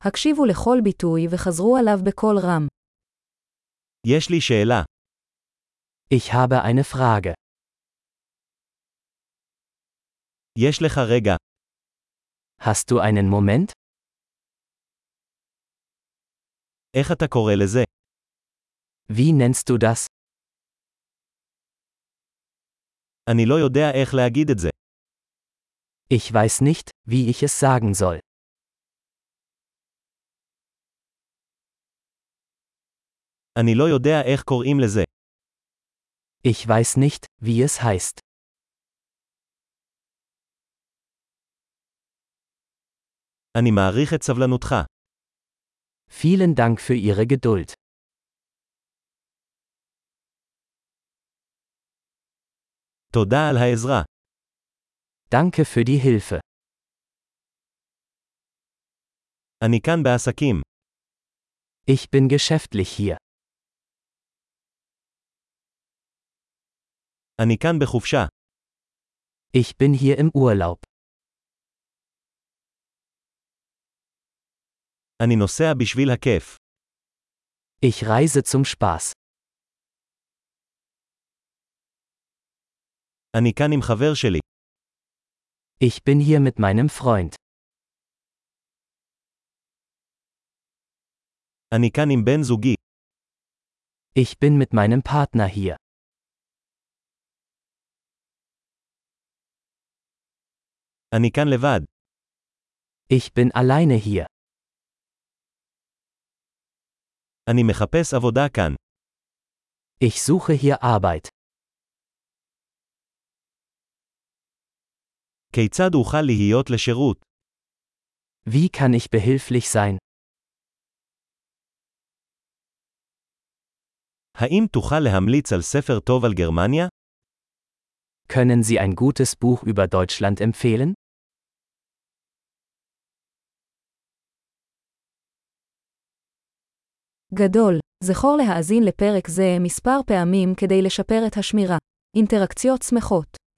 הקשיבו לכל ביטוי וחזרו עליו בקול רם. יש לי שאלה. Ich habe eine Frage. יש לך רגע. Hast du einen Moment? איך אתה קורא לזה? Wie nennst du das? אני לא יודע איך להגיד את זה. Ich weiß nicht, wie ich es sagen soll. אני לא יודע איך קוראים לזה. Ich weiß nicht, wie es heißt. אני מעריך את סבלנותך. Vielen Dank für Ihre Geduld. תודה על העזרה. Danke für die Hilfe. אני כאן בעסקים. Ich bin geschäftlich hier. אני כאן בחופשה. Ich bin hier im Urlaub. אני נוסע בשביל הכיף. Ich reise zum Spaß. אני כאן עם חבר שלי. Ich bin hier mit meinem Freund. אני כאן עם בן זוגי. Ich bin mit meinem Partner hier. אני כאן לבד. Ich bin alleine hier. אני מחפש עבודה כאן. Ich suche hier Arbeit. כיצד אוכל להיות לשירות? Wie kann ich behilflich sein? האם תוכל להמליץ על ספר טוב על גרמניה? Können Sie ein gutes Buch über Deutschland empfehlen? גדול, זכור להאזין לפרק זה מספר פעמים כדי לשפר את השמירה. אינטראקציות שמחות